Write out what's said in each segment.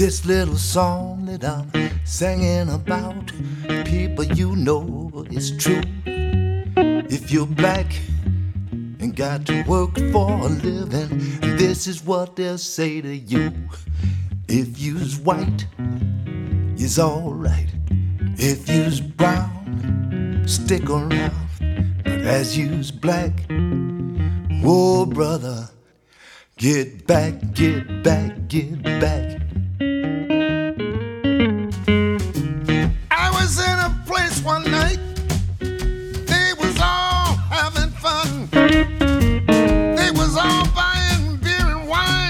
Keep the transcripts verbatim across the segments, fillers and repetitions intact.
This little song that I'm singing about, people, you know it's true. If you're black and got to work for a living, this is what they'll say to you. If you's white, you's alright. If you's brown, stick around. But as you's black, whoa brother, get back, get back, get back. I was in a place one night, they was all having fun. They was all buying beer and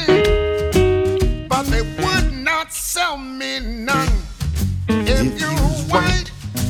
wine, but they would not sell me none. If, if you're white,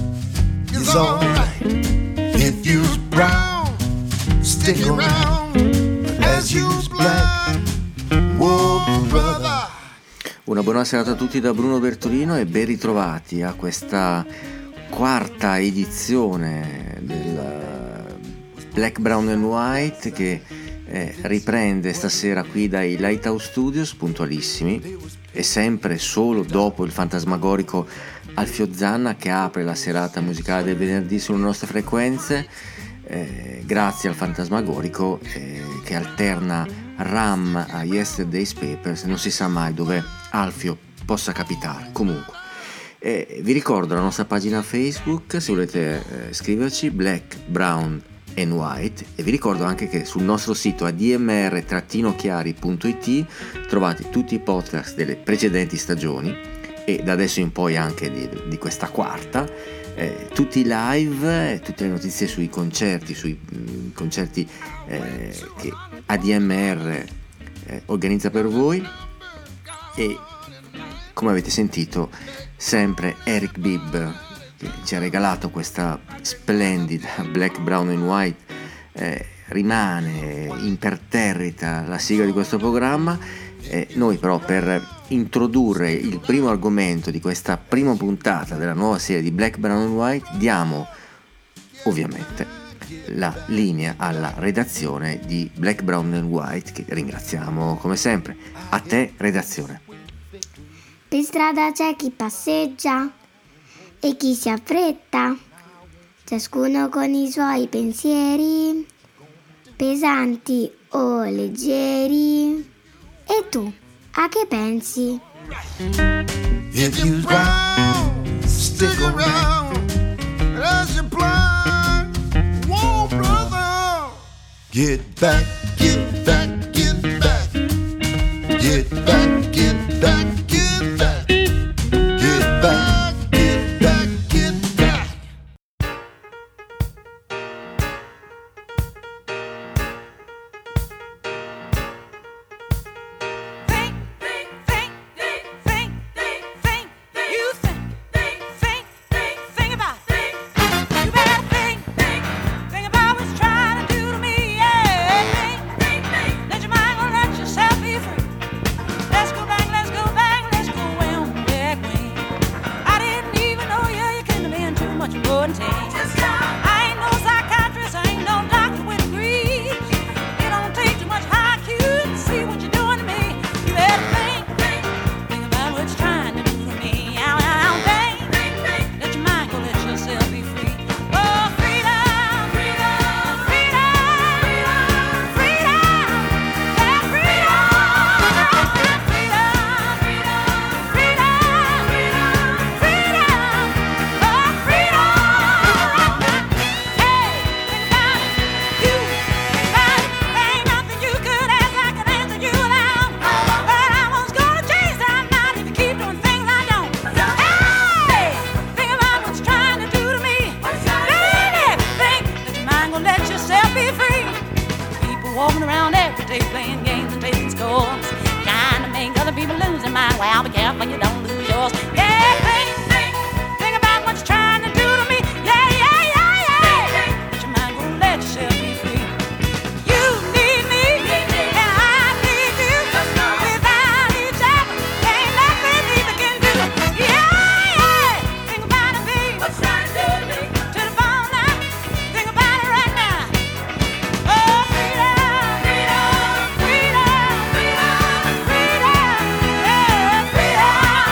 it's alright. If you's brown, stick around. As you's black, whoa brother. Una buona serata a tutti da Bruno Bertolino e ben ritrovati a questa quarta edizione del Black, Brown and White che eh, riprende stasera qui dai Lighthouse Studios puntualissimi e sempre solo dopo il fantasmagorico Alfio Zanna che apre la serata musicale del venerdì sulle nostre frequenze. Eh, grazie al fantasmagorico eh, che alterna Ram a Yesterday's Papers, non si sa mai dove Alfio possa capitare. Comunque eh, vi ricordo la nostra pagina Facebook se volete eh, scriverci, Black, Brown and White, e vi ricordo anche che sul nostro sito a d m r chiari punto i t trovate tutti i podcast delle precedenti stagioni e da adesso in poi anche di, di questa quarta. Eh, tutti i live, eh, tutte le notizie sui concerti, sui mh, concerti eh, che A D M R eh, organizza per voi, e come avete sentito sempre Eric Bibb che ci ha regalato questa splendida Black, Brown and White eh, rimane imperterrita la sigla di questo programma. Eh, noi però per introdurre il primo argomento di questa prima puntata della nuova serie di Black, Brown and White diamo ovviamente la linea alla redazione di Black, Brown and White, che ringraziamo come sempre. A te redazione. Per strada c'è chi passeggia e chi si affretta, ciascuno con i suoi pensieri pesanti o leggeri. E tu, a che pensi? If you're brown, stick around. As you're blind, whoa brother, get back, get back, get back, get back, get back, get back, get back, get back, get back. Freedom, freedom, freedom, freedom.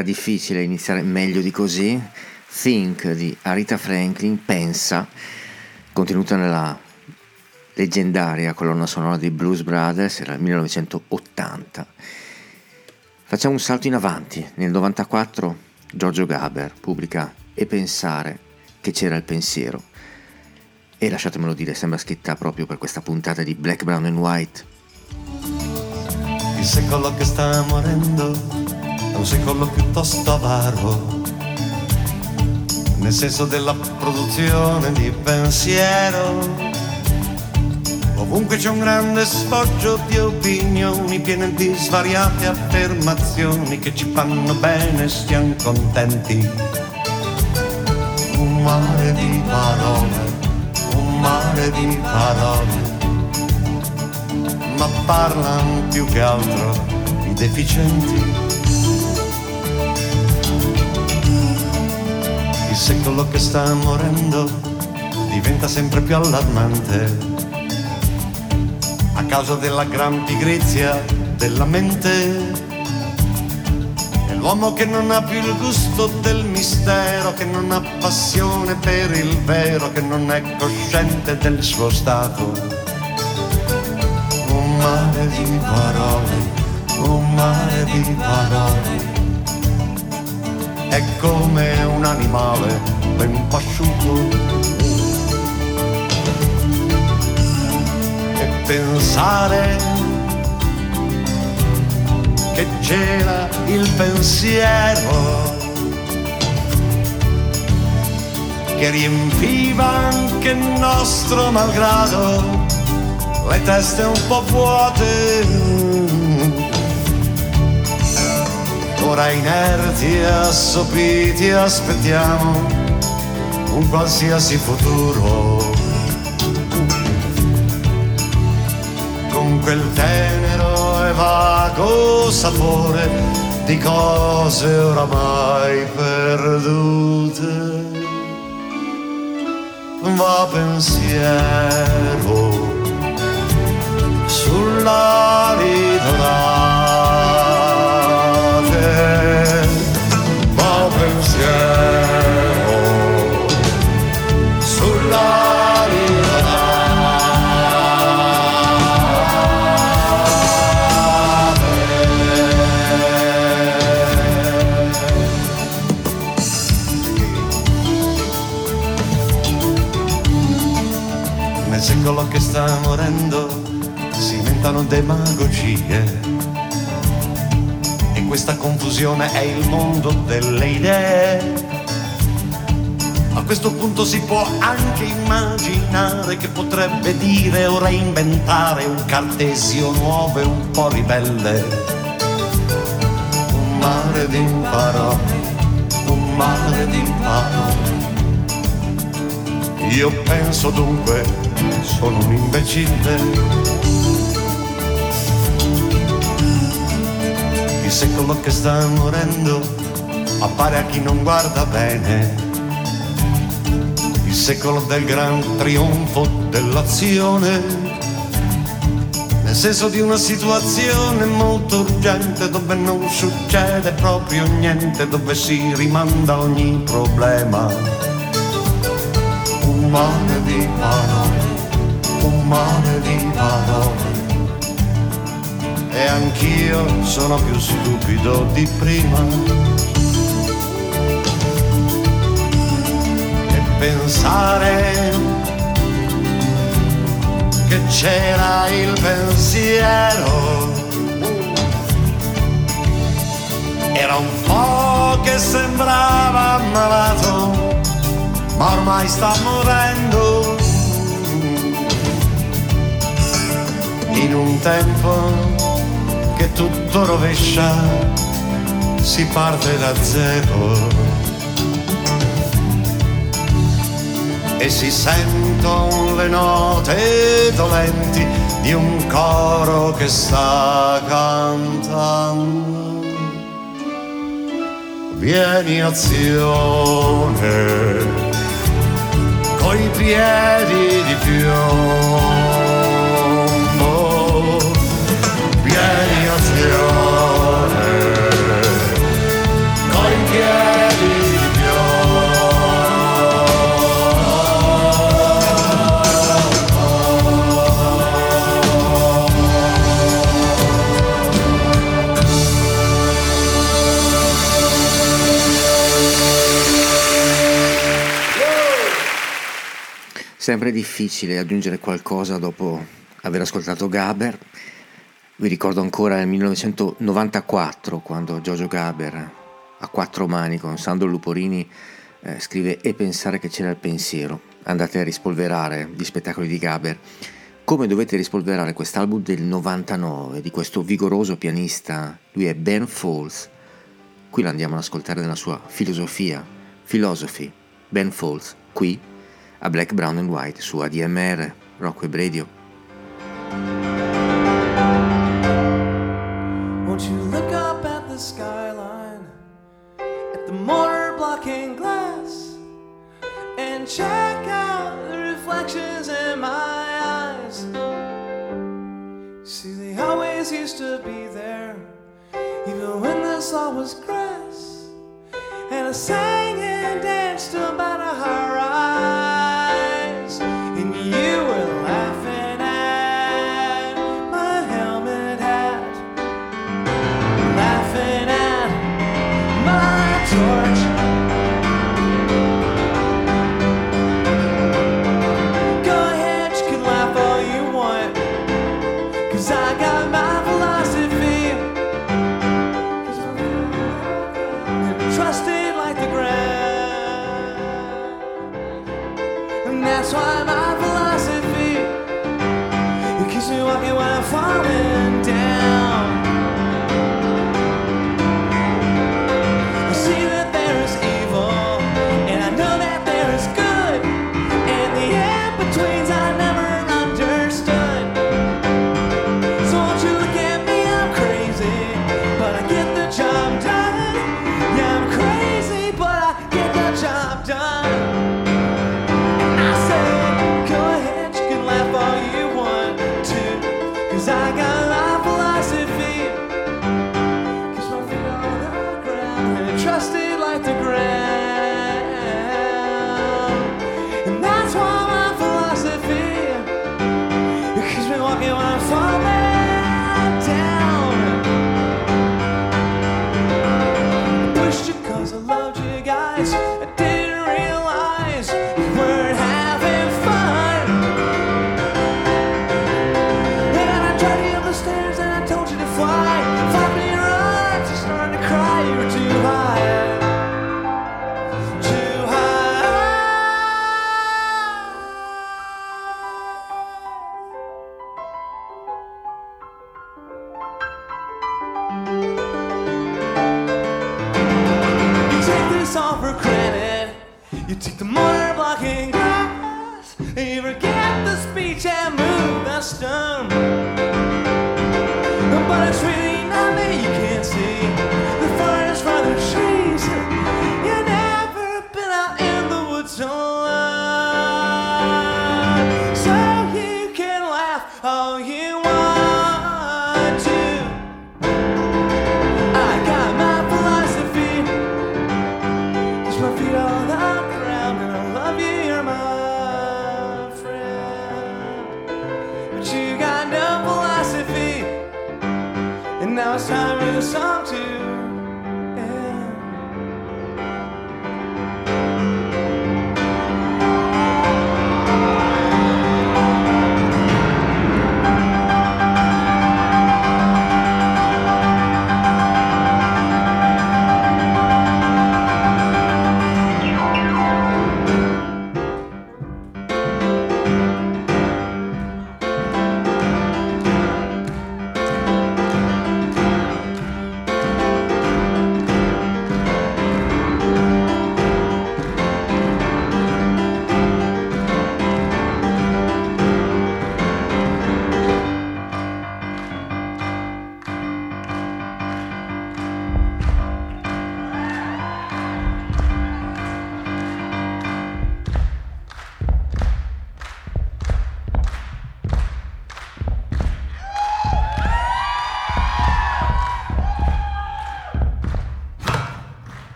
era difficile iniziare meglio di così. Think di Aretha Franklin, Pensa, contenuta nella leggendaria colonna sonora di Blues Brothers, era il millenovecentottanta. Facciamo un salto in avanti. Nel novantaquattro Giorgio Gaber pubblica E pensare che c'era il pensiero, e lasciatemelo dire, sembra scritta proprio per questa puntata di Black, Brown and White. Il secolo che sta morendo è un secolo piuttosto avaro, nel senso della produzione di pensiero. Ovunque c'è un grande sfoggio di opinioni piene di svariate affermazioni che ci fanno bene e stiamo contenti. Un mare di parole, un mare di parole, ma parlano più che altro i deficienti. Il secolo che sta morendo diventa sempre più allarmante a causa della gran pigrizia della mente. È l'uomo che non ha più il gusto del mistero, che non ha passione per il vero, che non è cosciente del suo stato. Un mare di parole, un mare di parole, è come un animale ben pasciuto. E pensare che c'era il pensiero che riempiva anche il nostro malgrado le teste un po' vuote. Ora inerti e assopiti aspettiamo un qualsiasi futuro, con quel tenero e vago sapore di cose oramai perdute. Va pensiero sull'ali dorate, va pensiero sull'ali dorate. Nel secolo che sta morendo si inventano demagogie e questa confusione è il mondo delle idee. A questo punto si può anche immaginare che potrebbe dire o reinventare un Cartesio nuovo e un po' ribelle. Un mare di parole, un mare di parole. Io penso dunque, sono un imbecille. Il secolo che sta morendo appare a chi non guarda bene. Il secolo del gran trionfo dell'azione, nel senso di una situazione molto urgente dove non succede proprio niente, dove si rimanda ogni problema. Un mare di parole, un mare di parole, e anch'io sono più stupido di prima. E pensare che c'era il pensiero era un po' che sembrava malato, ma ormai sta morendo. In un tempo che tutto rovescia, si parte da zero e si sentono le note dolenti di un coro che sta cantando. Vieni azione, coi piedi di piombo, vieni azione, Sempre difficile aggiungere qualcosa dopo aver ascoltato Gaber. Vi ricordo ancora nel millenovecentonovantaquattro, quando Giorgio Gaber a quattro mani con Sandro Luporini eh, scrive E pensare che c'era il pensiero. Andate a rispolverare gli spettacoli di Gaber, come dovete rispolverare quest'album del novantanove di questo vigoroso pianista. Lui è Ben Folds. Qui lo andiamo ad ascoltare nella sua filosofia, Philosophy. Ben Folds, qui a Black, Brown and White su A D M R, Rock Web Radio. Won't you look up at the skyline, at the motor blocking glass, and check out the reflections in my eyes? See, they always used to be there, even when this all was grass, and I sang and danced about a high rise, and you were laughing at my helmet hat, laughing at my torch. Go ahead, you can laugh all you want, 'cause I got my philosophy, trusted like the ground, and that's why my philosophy, it keeps me walking when I'm falling down. I see that there is evil, and I know that there is good, and the in-betweens I never understood. So won't you look at me, I'm crazy, but I get the job done. Yeah, I'm crazy, but I get the job done. I said, go ahead, you can laugh all you want to, 'cause I got my philosophy, keeps my feet on the ground, and trusted like the ground, and that's why my philosophy, it keeps me walking when I'm falling down. Pushed you 'cause I loved you guys, I didn't realize you weren't having fun. And I tried you up the stairs and I told you to fly, flap in your arms, you're starting to cry, you were too high, too high. You take this all for granted, you take the motor blocking glass, and you forget the speech and move the stone. But it's really not me, you can't see the forest for the trees. You've never been out in the woods alone, so you can laugh all you want to. I got my philosophy, keeps my feet on the ground, and I love you, you're my friend. But you got no philosophy, and now it's time for the song to end.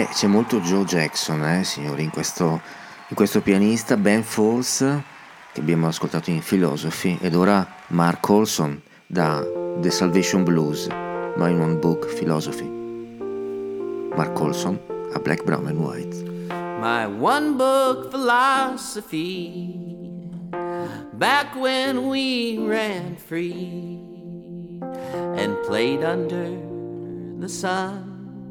Beh, c'è molto Joe Jackson, eh, signori, in questo, in questo pianista, Ben Folds, che abbiamo ascoltato in Philosophy, ed ora Mark Olson da The Salvation Blues, My One Book Philosophy. Mark Olson a Black, Brown and White. My one book philosophy, back when we ran free and played under the sun.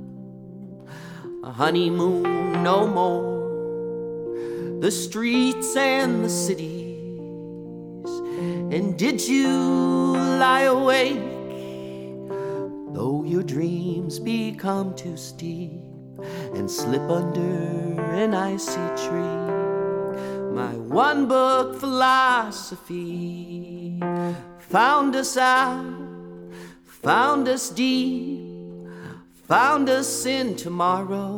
A honeymoon no more, the streets and the cities. And did you lie awake, though your dreams become too steep, and slip under an icy tree? My one book philosophy found us out, found us deep, found us in tomorrow.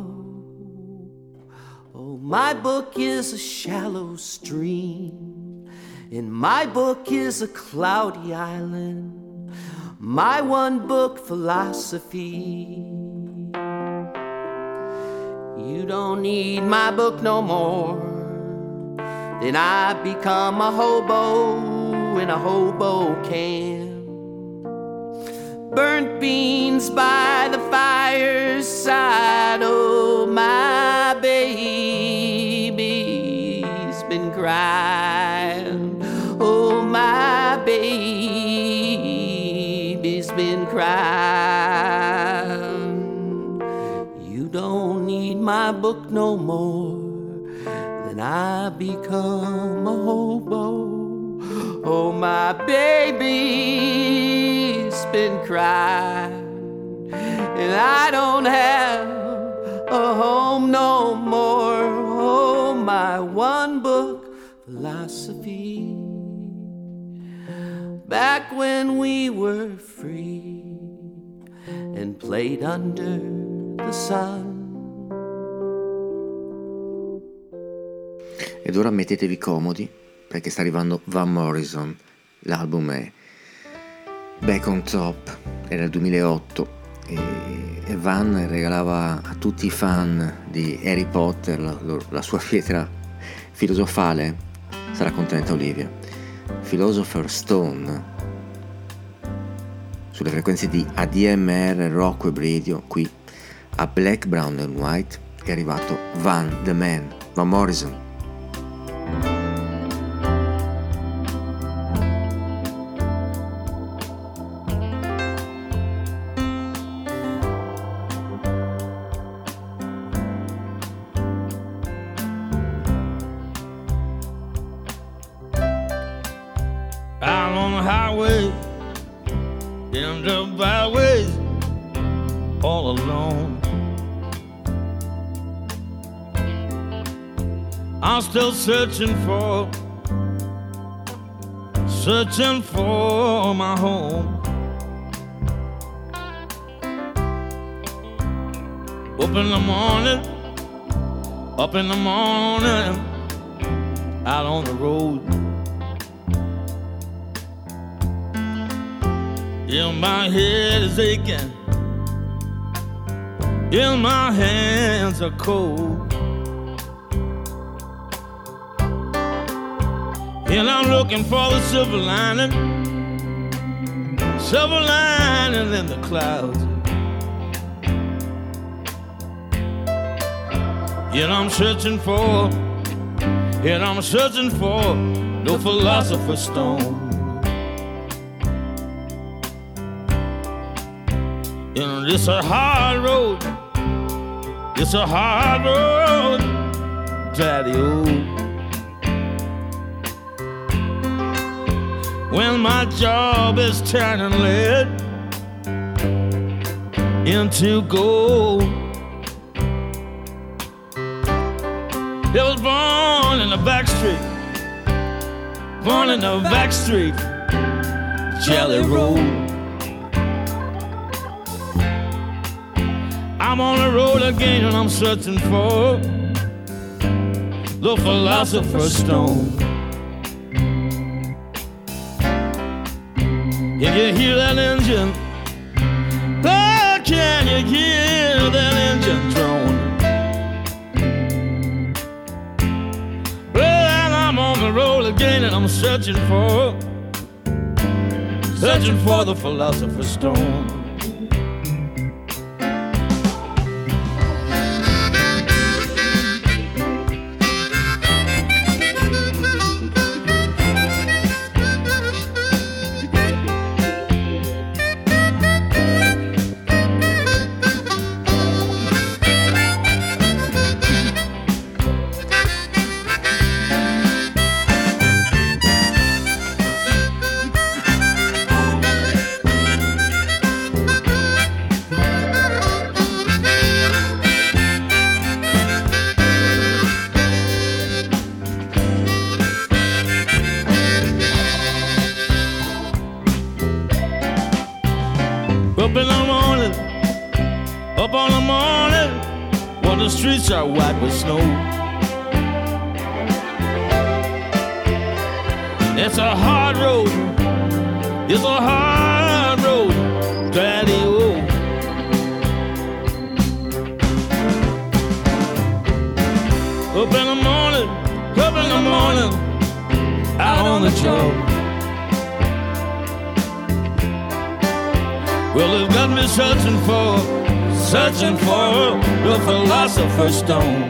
Oh, my book is a shallow stream, and my book is a cloudy island. My one book philosophy. You don't need my book no more. Then I become a hobo in a hobo can. Burnt beans by the fireside. Oh, my baby's been crying. Oh, my baby's been crying. You don't need my book no more. Then I become a hobo. Oh, my baby's been crying, and I don't have a home no more. Oh, my one book philosophy. Back when we were free and played under the sun. Ed ora mettetevi comodi, perché sta arrivando Van Morrison. L'album è Back on Top, era il duemilaotto, e, e Van regalava a tutti i fan di Harry Potter la, la sua pietra filosofale. Sarà contenta Olivia. Philosopher's Stone, sulle frequenze di A D M R Rock Web Radio. Qui a Black, Brown and White è arrivato Van the Man, Van Morrison. I'm still searching for, searching for my home. Up in the morning, up in the morning, out on the road. Yeah, my head is aching, yeah, my hands are cold. And I'm looking for the silver lining, silver lining in the clouds. Yet I'm searching for, yet I'm searching for no philosopher's stone. You know, this a hard road, it's a hard road, daddy old. When my job is turning lead into gold. It was born in the back street, born in the back street, Jelly Roll. I'm on the road again and I'm searching for the philosopher's stone. Can you hear that engine? Oh, can you hear that engine drone? I'm searching for, searching for the philosopher's stone. Up in the morning, up on the morning, when the streets are white with snow. It's a hard road, it's a hard road, Daddy-o. Up in the morning, up in the morning, out on the job. Well, they've got me searching for, searching for the philosopher's stone.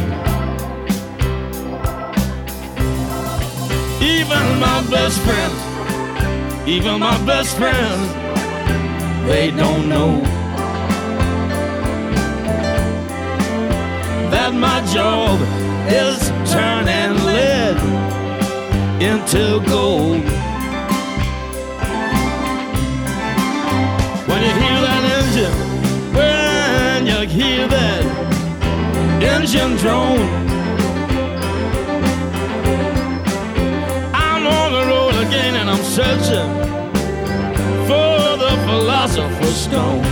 Even my best friends, even my best friends, they don't know that my job is turning lead into gold. When you hear that engine, when you hear that engine drone, I'm on the road again and I'm searching for the philosopher's stone.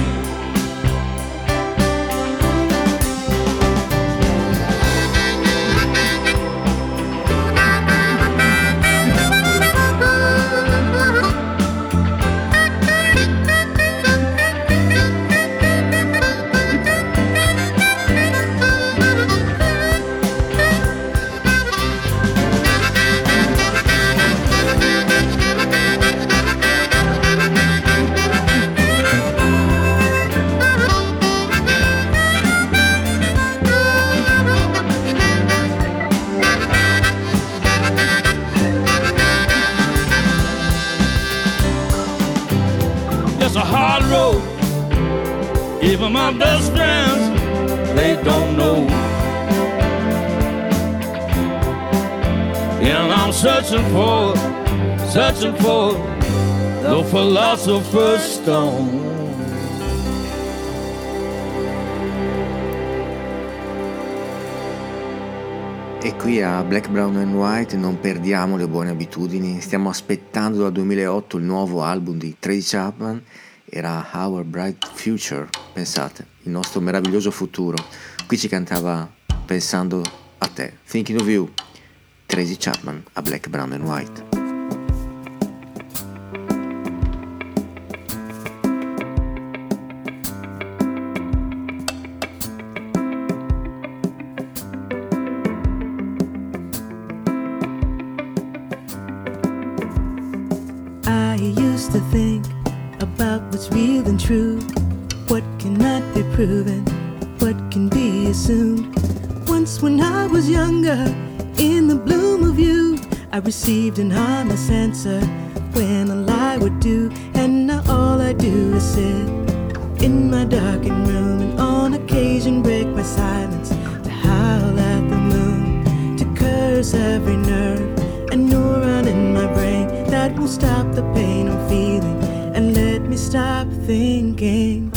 Even my best friends, they don't know. And I'm searching for, searching for the philosopher's stone. E qui a Black, Brown and White non perdiamo le buone abitudini, stiamo aspettando dal duemilaotto il nuovo album di Tracy Chapman. Era Our Bright Future, pensate, il nostro meraviglioso futuro. Qui ci cantava Pensando a te, Thinking of You, Tracy Chapman a Black, Brown and White. I used to think about what's real and true, what cannot be proven, what can be assumed. Once when I was younger, in the bloom of youth, I received an honest answer when a lie would do. And now all I do is sit in my darkened room and on occasion break my silence to howl at the moon, to curse every nerve and neuron in my brain that won't stop the pain I'm feeling and let me stop thinking.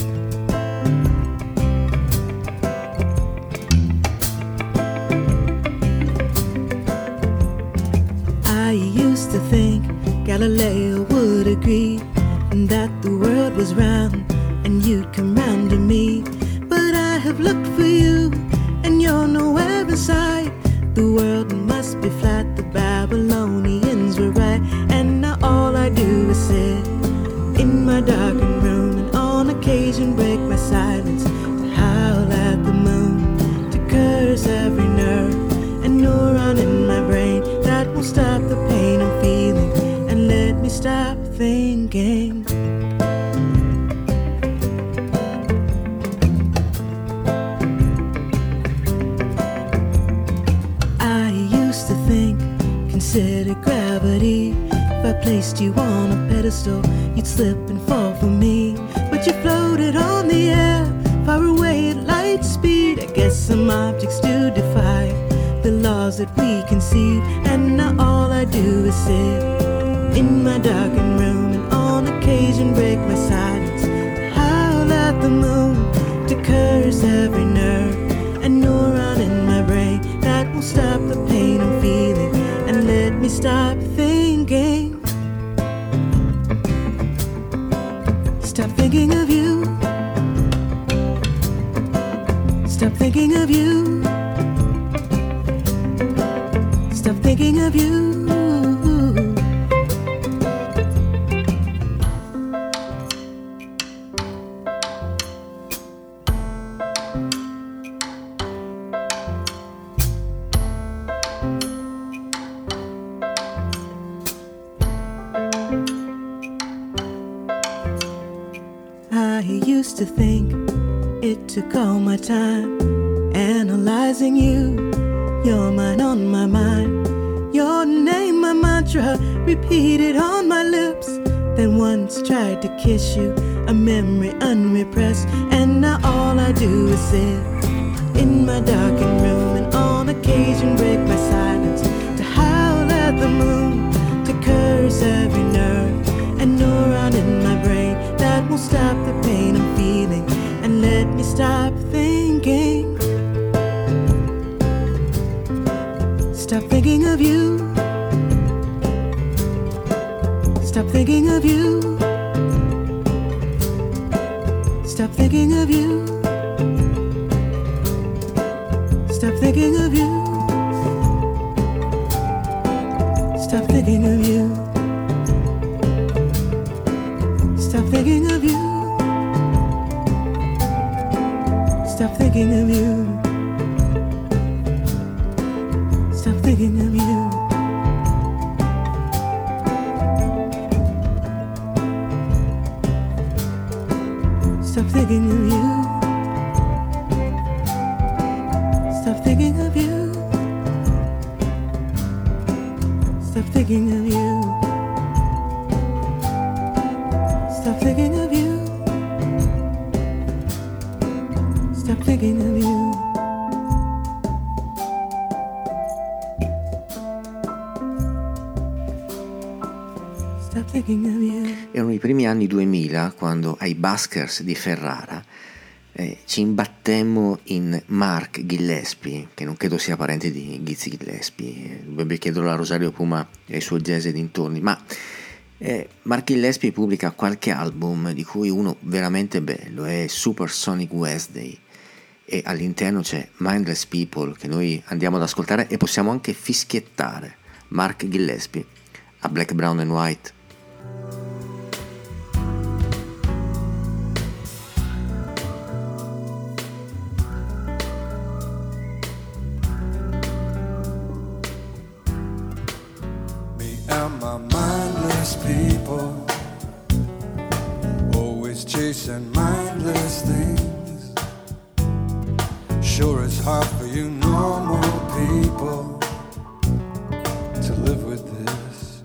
I used to think Galileo would agree that the world was round and you'd come round to me. But I have looked for you and you're nowhere inside. The world must be flat, the Babylonians were right. And now all I do is sit in my darkened room and on occasion break my silence to howl at the moon, to curse every nerve and neuron in my brain that won't stop the pain I'm feeling placed you on a pedestal, you'd slip and fall for me. But you floated on the air, far away at light speed. I guess some objects do defy the laws that we conceive. And now all I do is sit in my darkened room, and on occasion break my silence to howl at the moon, to curse every nerve and neuron in my brain that will stop the pain I'm feeling and let me stop thinking. Stop thinking of you. Stop thinking of you. Stop thinking of you. I used to think it took all my time analyzing you. Your mind on my mind, your name my mantra, repeated on my lips. Then once tried to kiss you, a memory unrepressed. And now all I do is sit in my darkened room, and on occasion break my silence to howl at the moon, to curse every nerve and neuron in my brain that will stop the pain I'm feeling and let me stop thinking. Stop thinking of you. Stop thinking of you. Stop thinking of you. Stop thinking of you. Stop thinking of you. Stop thinking of you. Stop thinking of you. Stop thinking of you. Stop thinking of you. Stop thinking of you. Stop thinking of you. Stop thinking of you. Stop thinking of you. Stop thinking of you. Erano i primi anni duemila quando ai Buskers di Ferrara eh, ci imbattemmo in Mark Gillespie, che non credo sia parente di Ghizzy Gillespie, dovrebbe chiederlo a Rosario Puma e ai suoi jazz e dintorni, ma eh, Mark Gillespie pubblica qualche album di cui uno veramente bello, è Supersonic Wednesday, e all'interno c'è Mindless People, che noi andiamo ad ascoltare e possiamo anche fischiettare. Mark Gillespie a Black, Brown and White. And my mindless people, always chasing mindless things. Sure it's hard for you normal people to live with this.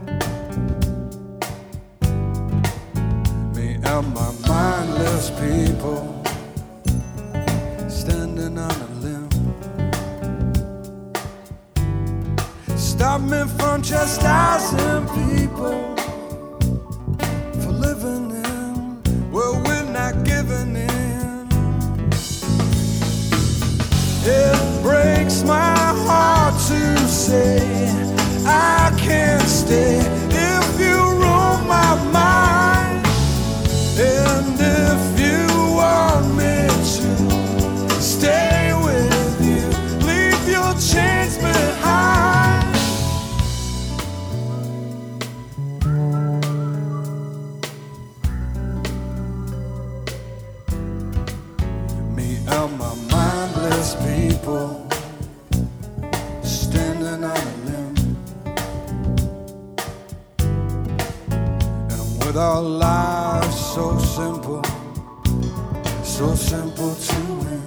Me and my mindless people, standing on a limb. Stop me from chastising people for living in, well, we're not giving in. It breaks my heart to say I can't stay if you rule my mind, and if you want me to stay with you, leave your chains behind. And my mindless people, standing on a limb. And I'm with our lives so simple, so simple to win.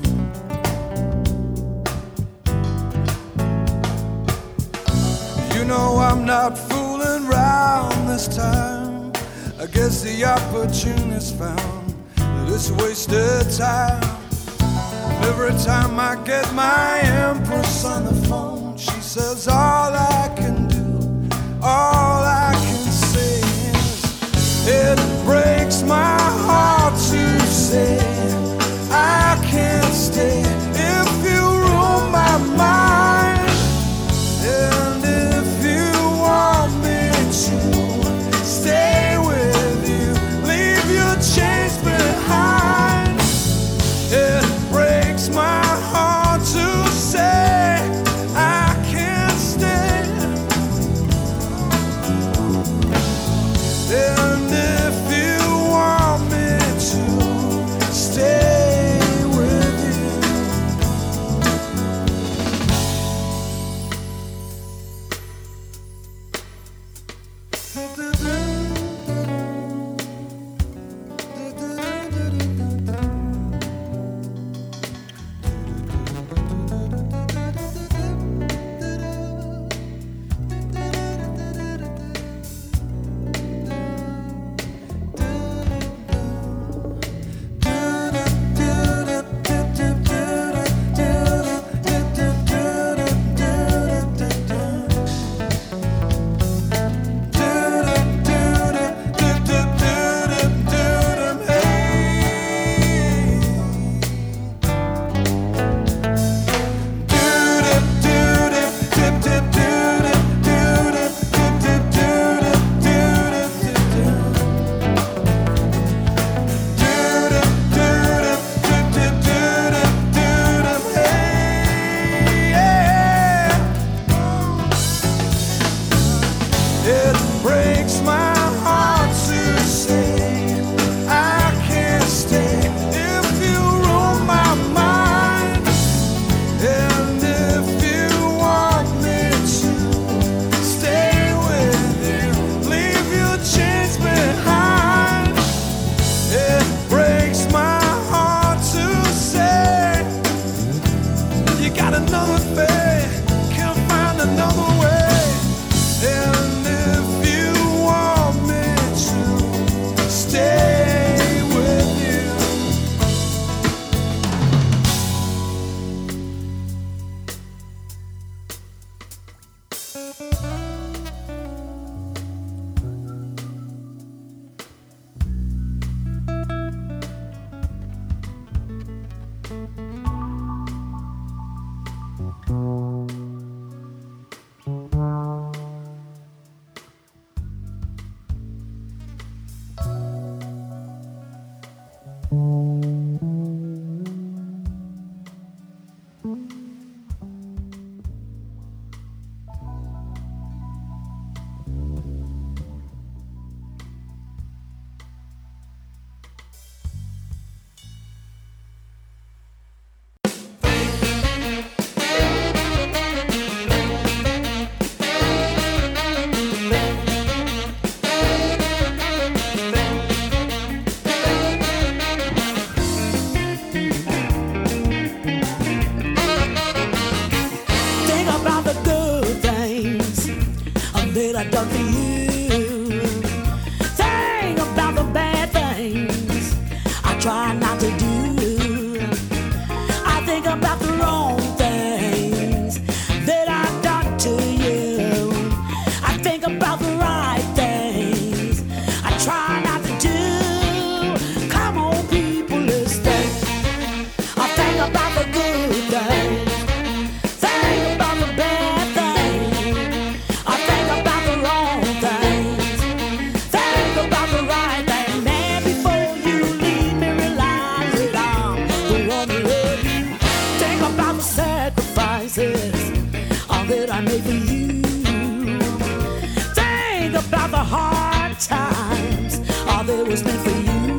You know I'm not fooling around this time. I guess the opportunist found that it's wasted time. Every time I get my empress on the phone, she says all I can do, all I can say is it breaks my heart to say I can't stay if you rule my mind. And if you want me to stay with you, leave your chains behind. It breaks my heart to say I can't stay. And if you want me to stay with you, it breaks my heart to say I can't stay if you rule my mind. And if you want me to stay with you, leave your chains behind. It breaks my heart to say you got another thing, can't find another way. And if you want me to stay with you, Think about the good things that I've done for you. Think about the bad things I try not to do. I think about the wrong things that I've done to you. I think about the right things I try not to do. Come on, people, let's think. I think about the good things. Think about the bad things. I think about the wrong things. Think about the right thing. Man, before you leave me, realize that I'm the one who loves you. Think about the sacrifices all that I made for you. Think about the hard times all that was meant for you.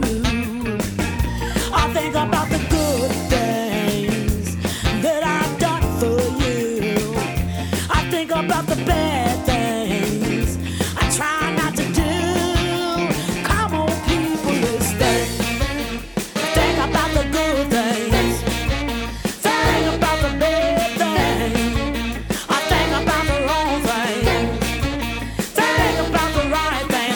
I think about the good things that I've done for you. I think about the bad things I try not to do. Come on, people, let's think. Think about the good things. Think about the bad things. I think about the wrong things. Think about the right thing.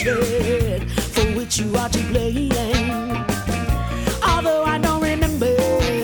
bloodshed for which you are to blame. Although I don't remember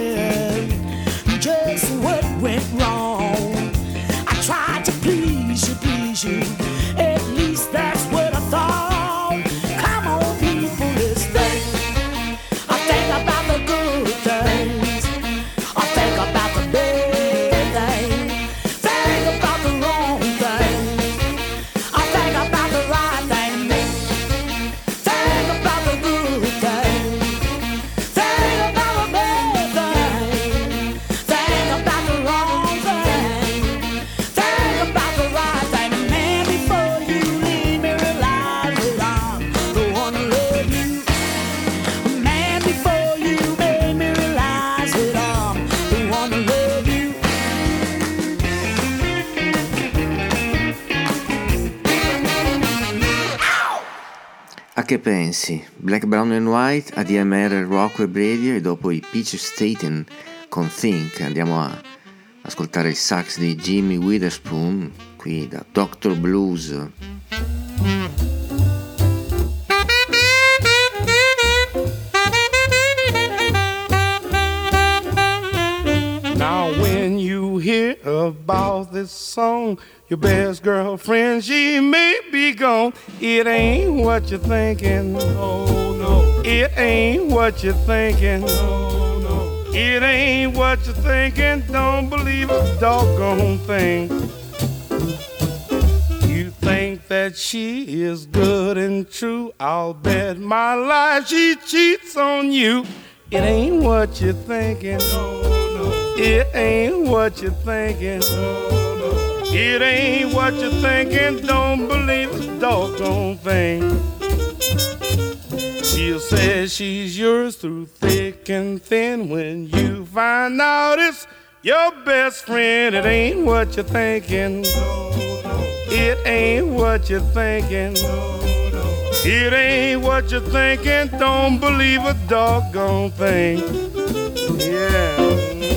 just what went wrong, I tried to please you, please you. At least that's what I thought. Come on, people, let's think. I think about the good things. I think about the bad things. Think about the wrong things. I think about the right thing. Think about the good things. Think about the bad things. Think about the wrong thing. Think about the right thing. Man, before you leave me, realize that I'm the one who love you. Man, before you made me realize that I'm the one who love you. A che pensi? Black, Brown and White, A D M R, Rockweb Radio e dopo i Peach Staten con Think. Andiamo a ascoltare il sax di Jimmy Witherspoon qui da doctor Blues. Now when you hear about this song, your best girlfriend, she may be gone. It ain't what you're thinking. Oh no. It ain't what you're thinking. Oh no. It ain't what you're thinking. Don't believe a doggone thing. You think that she is good and true, I'll bet my life she cheats on you. It ain't what you're thinking. It ain't what you're thinking. It ain't what you're thinking. Don't believe a doggone thing. She'll say she's yours through thick and thin. When you find out it's your best friend, it ain't what you're thinking. It ain't what you're thinking. It ain't what you're thinking. Don't believe a doggone thing. Yeah.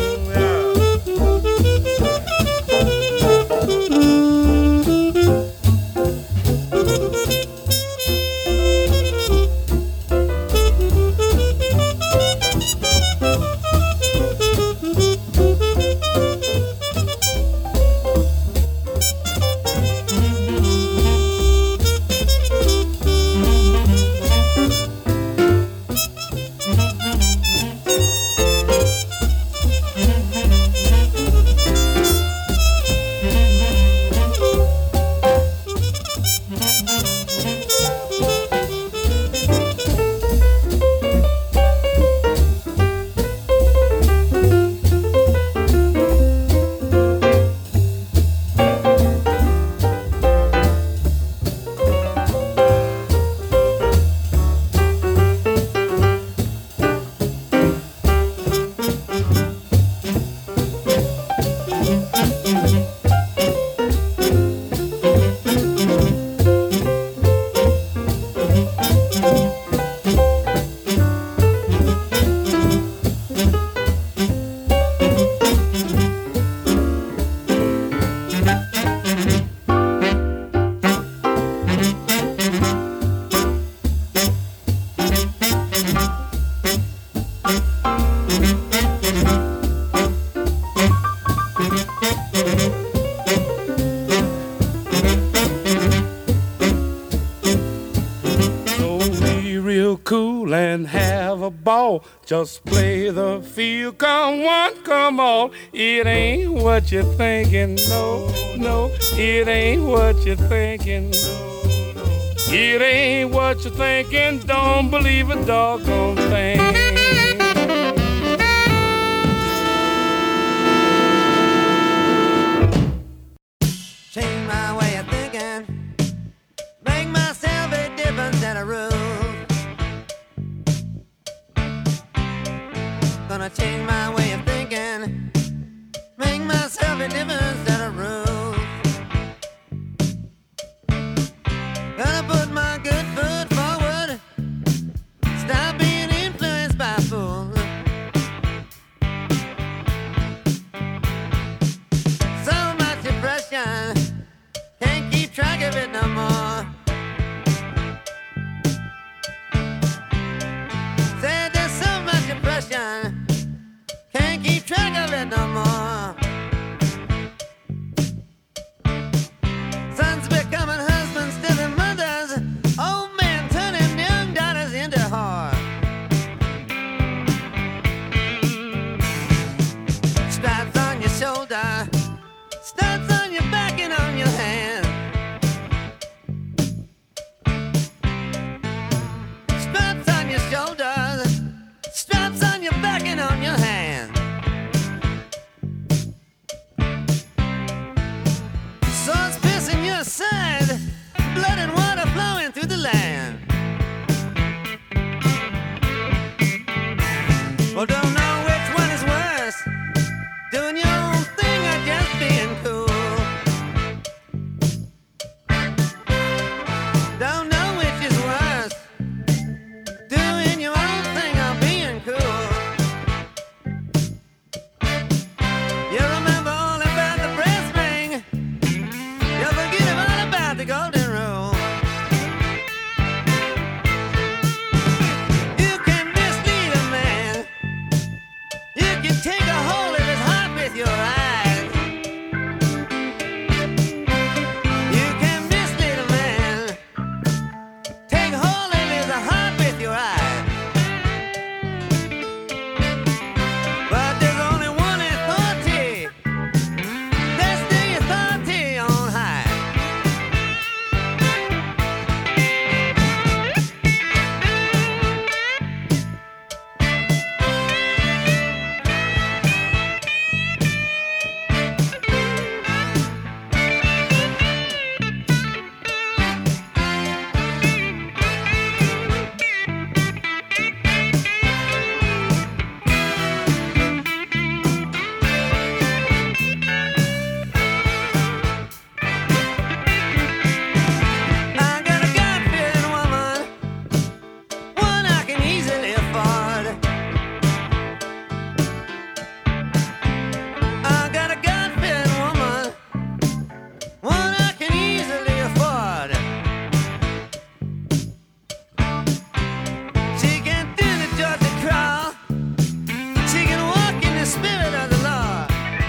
Just play the field, come one, come all. It ain't what you're thinking, no, no. It ain't what you're thinking, no, no. It ain't what you're thinking. Don't believe a doggone thing. Change my way of thinking, make myself a difference than a rule. Gonna change my way of thinking, make myself a difference than a rule. Gonna put my good foot forward, stop being influenced land. Well, don't know which one is worse, doing your own thing or just being cool. Don't know which is worse, doing your own thing or being cool. You remember all about the brass ring, you forget all about the golden rule. You can mislead a man, you can take a hold of his heart with your eyes. You can mislead a man, take hold of his heart with your eyes. But there's only one authority, that's the authority on high. I got a God-fearing woman, one I can easily afford. I got a God-fearing woman, one I can easily afford. She can do the Georgia crawl, she can walk in the spirit of the Lord.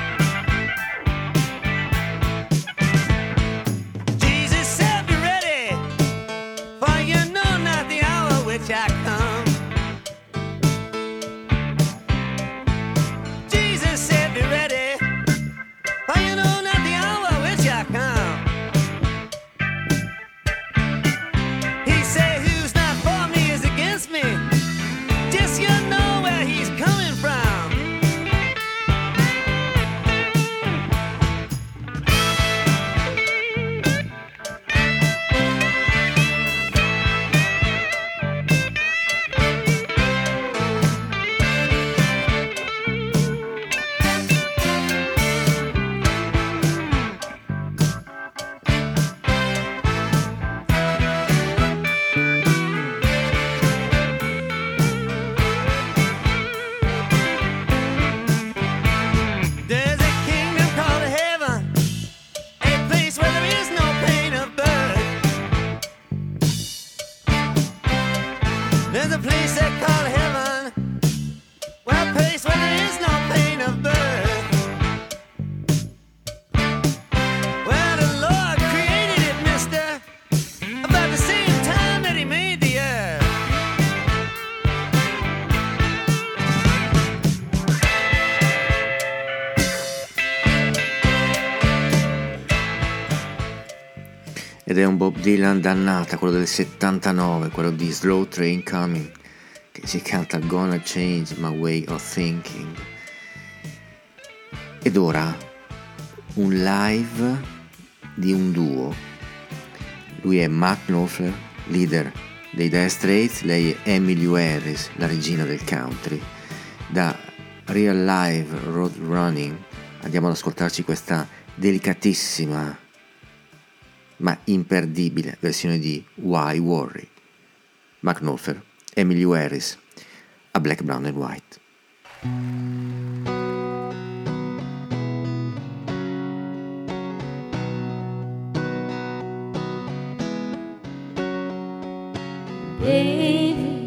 Jesus said, be ready, for you know not the hour which I come. Jesus said, be ready, for you know not the hour which I come. He said, who's not for me is against me. Just you know where he's coming from. There's a kingdom called heaven, a place where there is no pain of birth. There's a place they call heaven, well, a place where there is no pain of birth. Well, the Lord created it, mister, about the same time that he made the earth. Ed è un Bob Dylan dannata, quello del settantanove, quello di Slow Train Coming, che si canta Gonna Change My Way of Thinking. Ed ora un live di un duo. Lui è Mark Knopfler, leader dei Dire Straits, lei è Emmylou Harris, la regina del country. Da Real Live Road Running andiamo ad ascoltarci questa delicatissima ma imperdibile versione di Why Worry. Mark Knopfler, Emmylou Harris, a Black, Brown and White. Baby,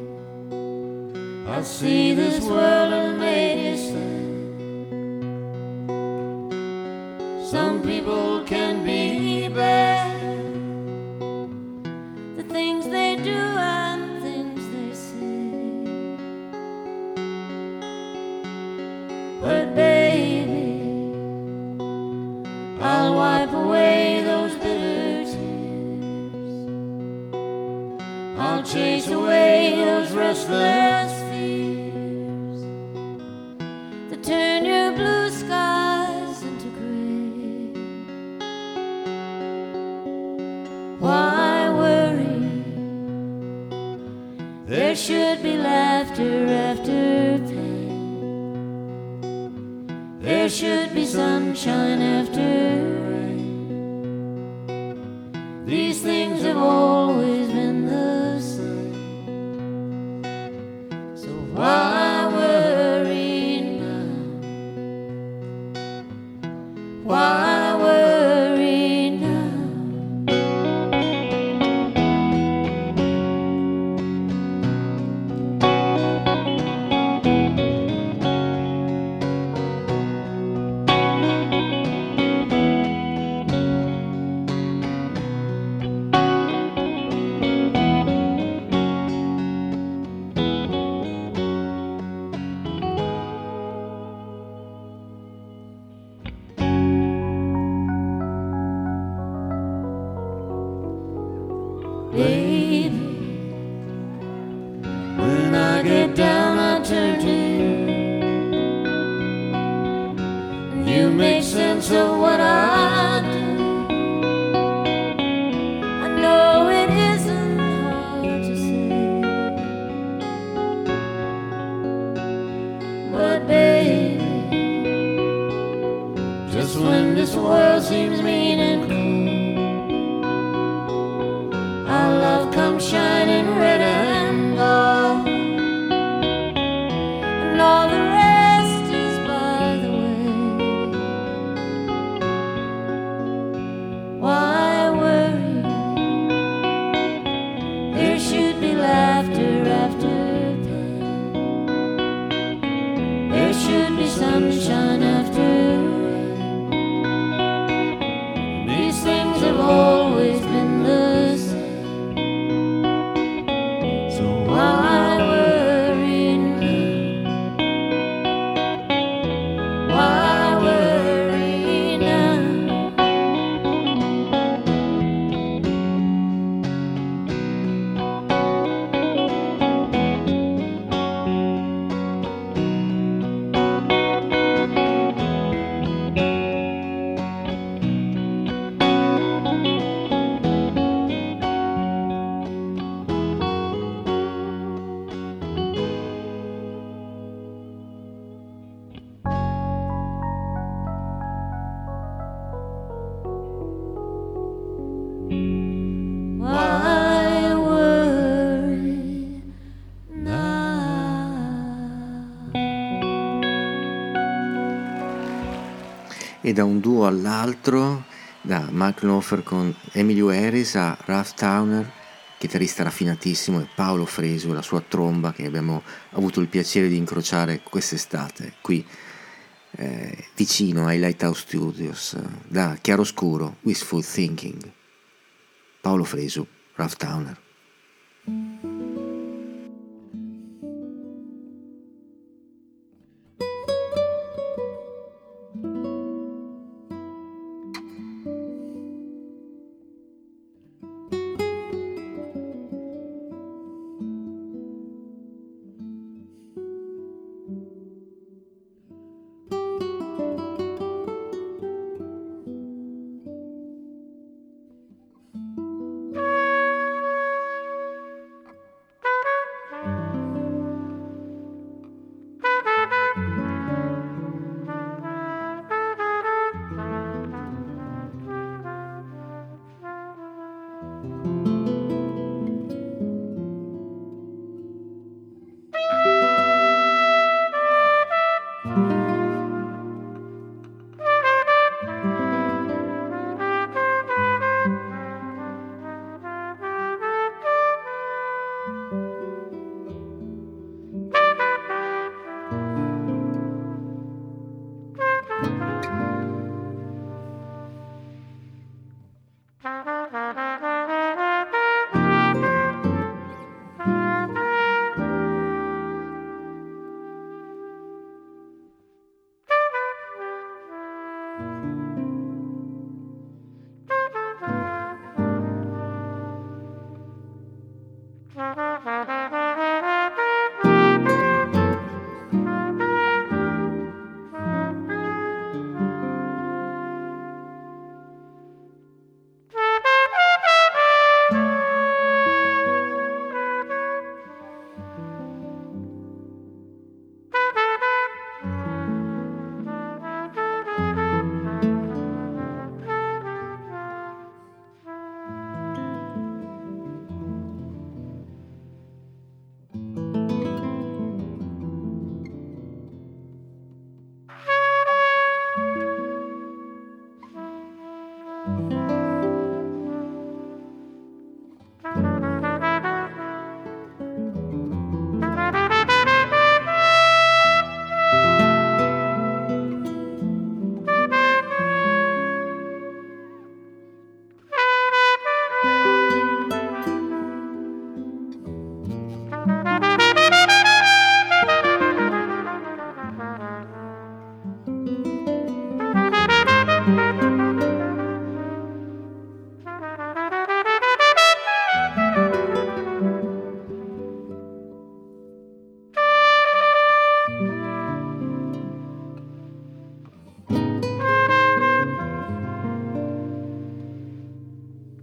I see this world and made it sad. Some people can be bad, the things they do and the things they say. But baby, I'll wipe away those bitter tears. I'll chase away those restless fears that turn your blue skies into gray. Why worry should be laughter after pain. There should be sunshine after rain. These things have always been the same. So why worry now? Why worry now? Baby, when I get down I turn to you. You make sense of what I do. I know it isn't hard to say, but baby, just when this world seems mean and cold, our love comes shining red and gold, and all the rest is by the way. Why worry? There should be laughter after pain. There should be sunshine after rain. These things have always been the same. Why worry now? Why worry now? Why worry now? E da un duo all'altro, da Mark Knopfler con Emmylou Harris a Ralph Towner, chitarrista raffinatissimo, e Paolo Fresu, la sua tromba, che abbiamo avuto il piacere di incrociare quest'estate qui eh, vicino ai Lighthouse Studios, da Chiaroscuro, Wishful Thinking. Paolo Fresu, Ralph Towner.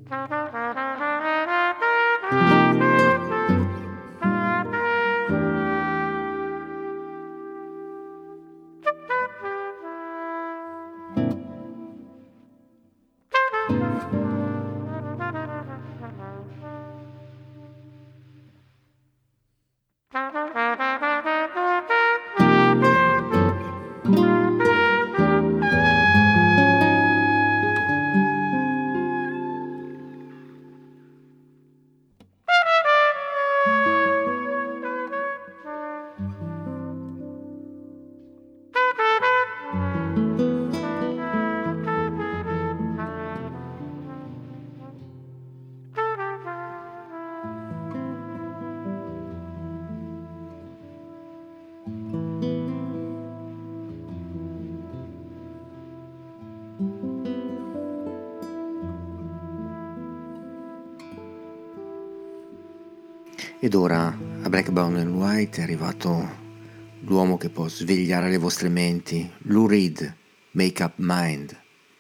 Ed ora a Black, Brown and White è arrivato l'uomo che può svegliare le vostre menti, Lou Reed, Make Up Mind.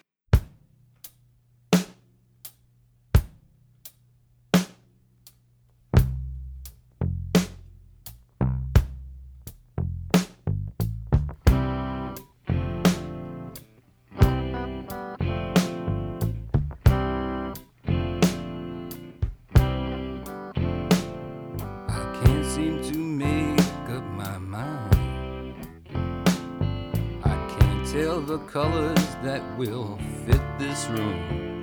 The colors that will fit this room.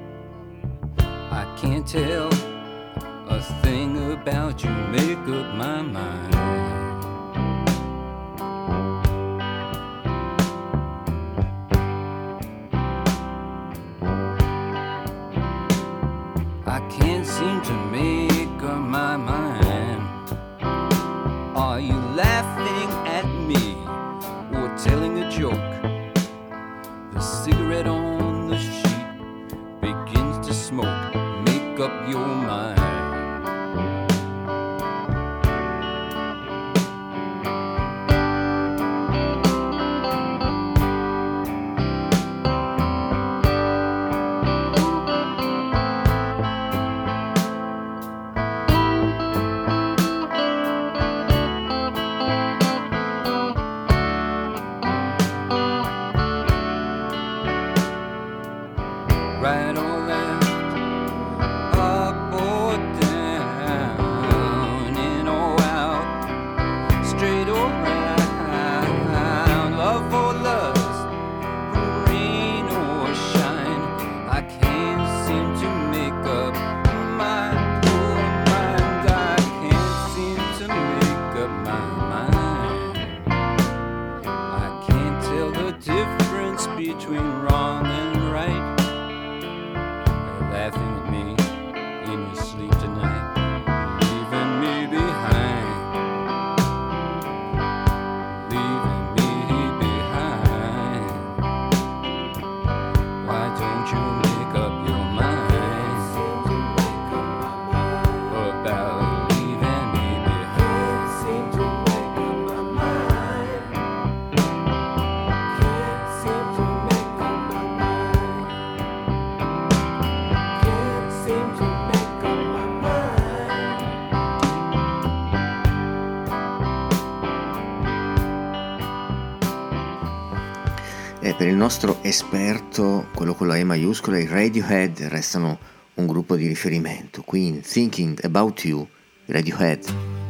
I can't tell a thing about you, make up my mind. I can't seem to make up my mind. Are you laughing at me or telling a joke? The cigarette on the sheet begins to smoke. Make up your mind. Right or left, up or down, in or out, straight or round, love or lust, rain or shine. I can't seem to make up my poor mind. I can't seem to make up my mind. I can't tell the difference between wrong and right. Laughing at me in your sleep tonight, leaving me behind, leaving me behind. Why don't you make up your mind about leaving me behind? Seem to make up my mind. Can't seem to make up my mind. Seem to make up my mind. E per il nostro esperto, quello con la E maiuscola, i Radiohead restano un gruppo di riferimento. Queen, Thinking About You, Radiohead.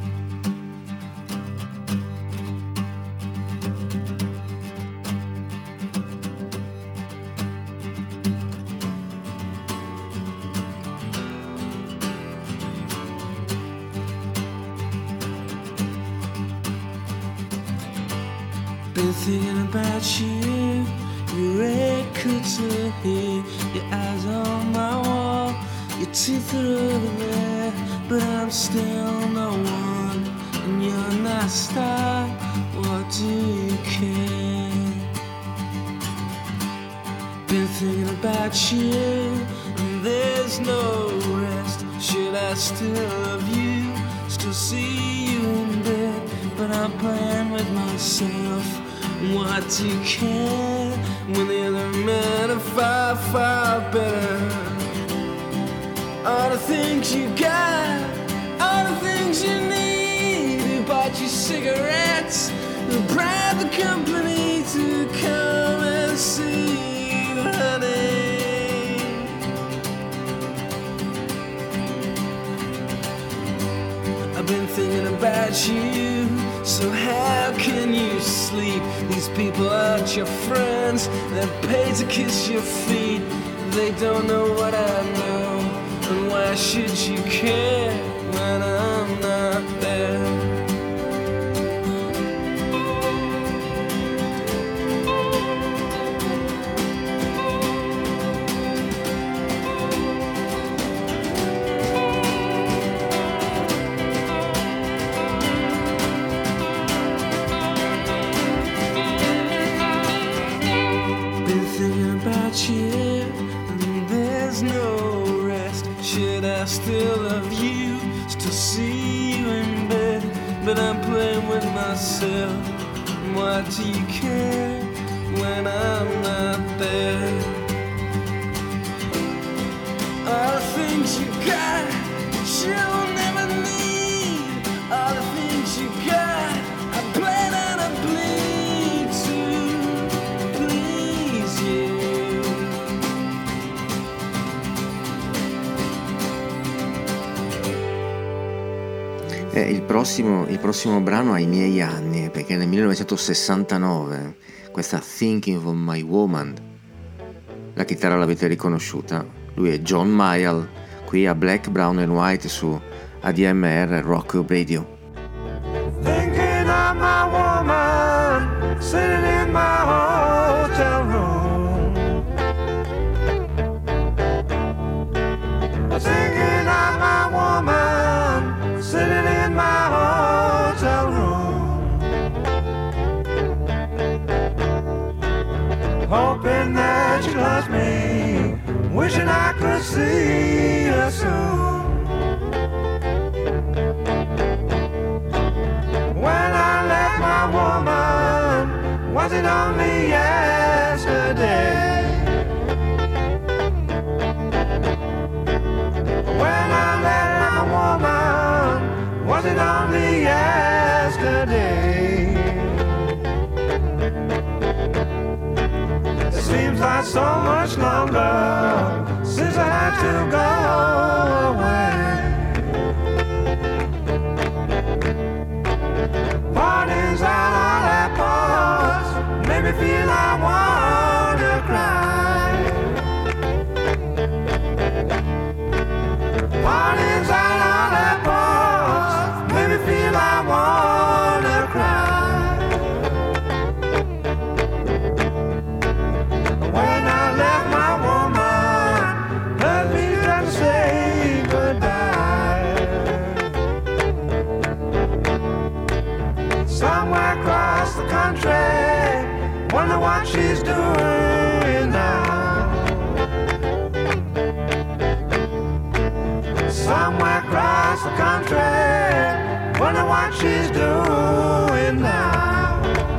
Been thinking about you, your red couture hair, your eyes on my wall, your teeth are over there, but I'm still no one, and you're not a star. What do you care? Been thinking about you, and there's no rest. Should I still love you, still see you in bed? But I'm playing with myself. What do you care when the other men are far, far better? the things you got, all the things you need. Who bought you cigarettes, who bribed the company to come and see you, honey. I've been thinking about you, so how can you sleep? These people aren't your friends, they're paid to kiss your feet. They don't know what I know, and why should you care when I'm not there? Been thinking about you, and there's no rest. Should I still love you, still see you in bed? But I'm playing with myself. Why do you care when I'm not there? All the things you got, you'll never need. All the things you got, I plan on a bleed to please you. Eh, il, prossimo, il prossimo brano ha i miei anni, perché nel millenovecentosessantanove questa Thinking of My Woman, la chitarra l'avete riconosciuta, lui è John Mayall, qui a Black, Brown and White su A D M R Rock Radio. Thinking of my woman sitting in my hotel room. Thinking of my woman sitting in my hotel room. Hoping that she loves me, wishing I could see her soon. When I left my woman, was it only yesterday? When I left my woman, was it only yesterday? It seems like so much longer since I had to go away. Mornings and all that pause made me feel I wanna cry. Mornings and all that pause made me feel I wanna cry. When I left my woman, let me just say goodbye. Somewhere across the country, wonder what she's doing now. Somewhere across the country, wonder what she's doing now.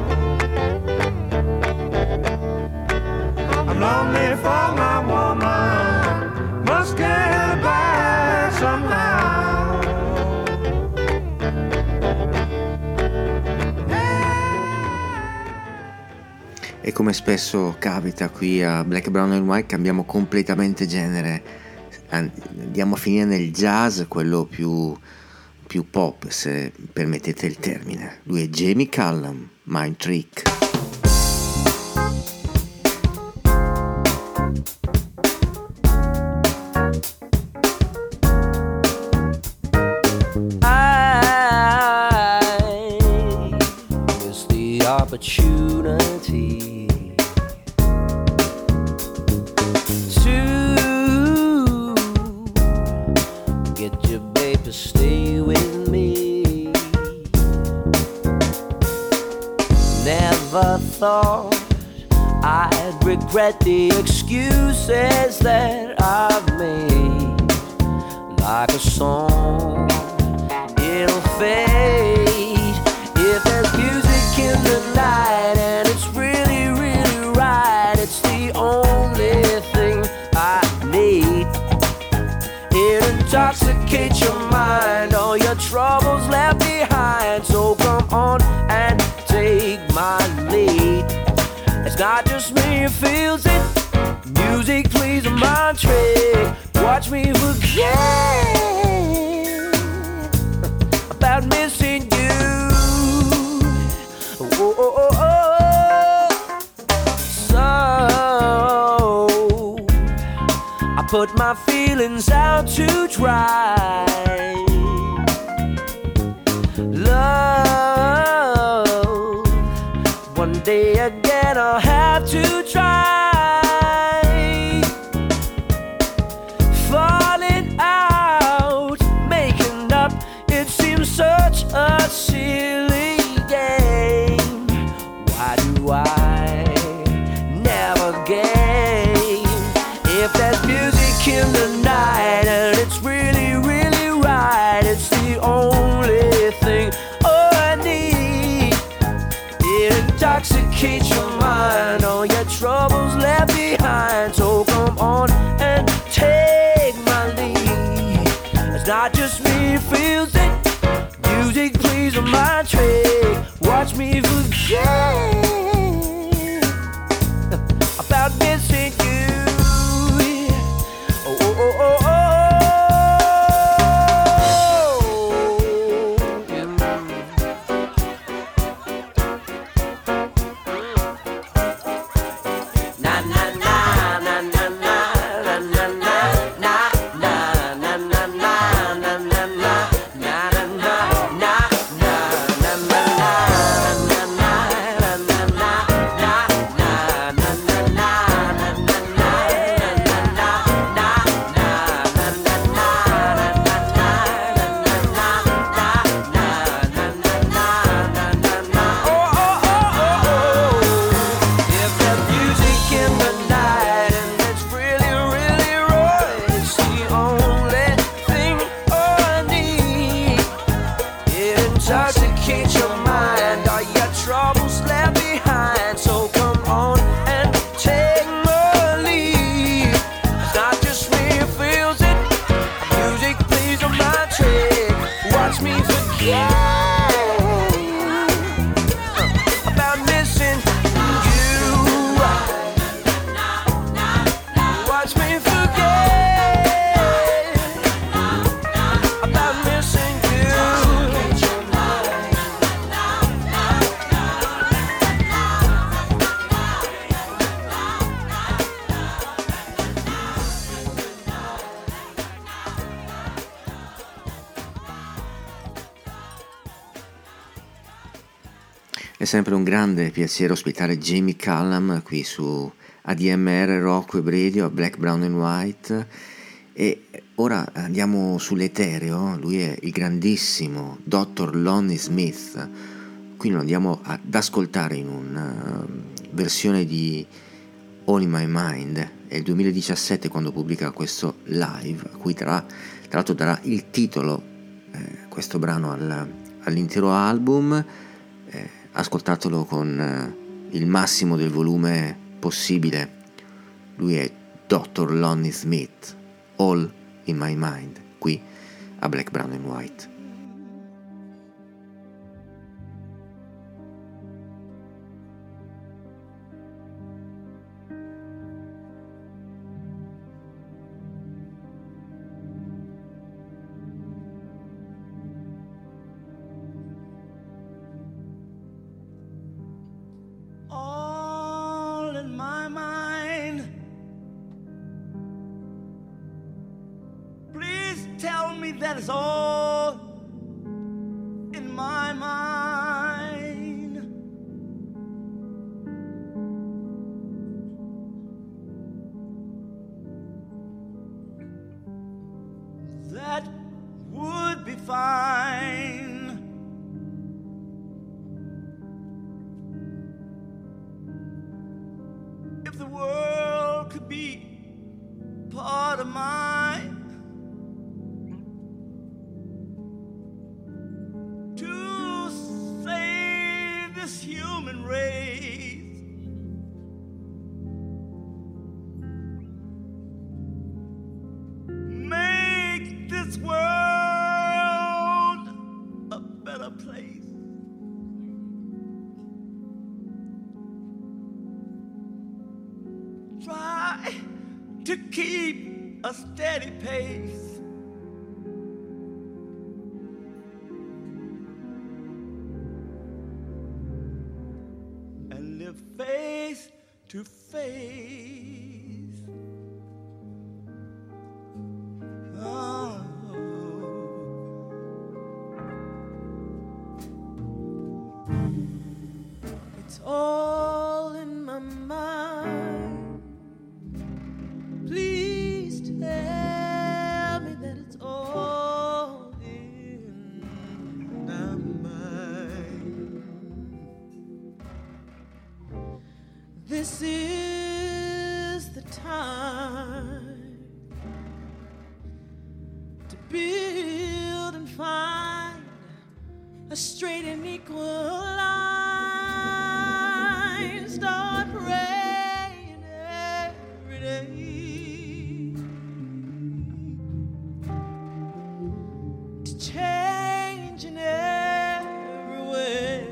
I'm lonely for my woman, must get her back somehow. E come spesso capita qui a Black, Brown and White, cambiamo completamente genere, andiamo a finire nel jazz, quello più, più pop, se permettete il termine. Lui è Jamie Cullum, Mind Trick. I miss the opportunity to get your babe to stay with me. Never thought I'd regret the excuses that I've made. Like a song, it'll fade. If there's music in the night and it's really, really right, it's the only thing I need. It'll intoxicate your mind, all your troubles left behind. So come on and take my lead. It's not just me who feels it. Music plays a mind trick. Watch me forget about missing you. Oh, oh, oh, oh. So I put my feelings out to dry. Love, one day again I'll have to try. Falling out, making up, it seems such a silly game. Why do I never game? If there's music in the night and it's really, really right, it's the only thing I need. It intoxicates your mind, all your troubles left behind. So come on and take my lead. It's not just me who feels it. Music plays a mind trick. Watch me forget about missing you. Oh, oh, oh, oh, oh. Na na na na na na na na na na na na na na na na na If there's music in the night and it's really, really right, it's the only thing I need. It intoxicates your mind, all your troubles left behind. So come on and take my lead. It's not just me who feels it. Music plays on my trick. Watch me forget about missing you. Watch me forget about missing you. È sempre un grande piacere ospitare Jamie Cullum qui su A D M R Rock Web Radio, Black, Brown and White. E ora andiamo sull'etereo. Lui è il grandissimo dottor Lonnie Smith. Qui lo andiamo ad ascoltare in una versione di All in My Mind. È il duemiladiciassette quando pubblica questo live, a cui tra, tra l'altro darà il titolo, eh, questo brano al, all'intero album. Eh, ascoltatelo con eh, il massimo del volume possibile. Lui è dottor Lonnie Smith, All in My Mind, qui a Black, Brown and White. All in my mind. Please tell me that it's all in my mind. That would be fine. If the world could be part of mine, to save this human race, make this this world a better place. Try to keep a steady pace. And live face to face. Oh. It's all in my mind. Please tell me that it's all in my mind. This is the time to build and find a straight and equal line. Start praying every day to change in every way.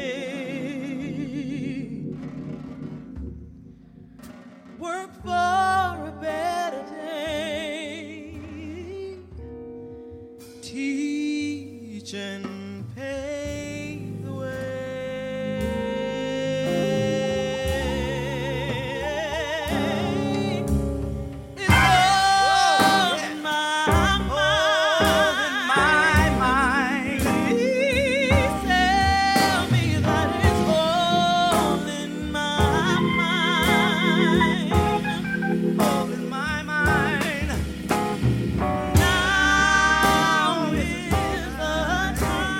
Work for a better day. Teach and pave the way. It's all in my mind. Please tell me that it's all in my mind. All in my mind. Now is the time.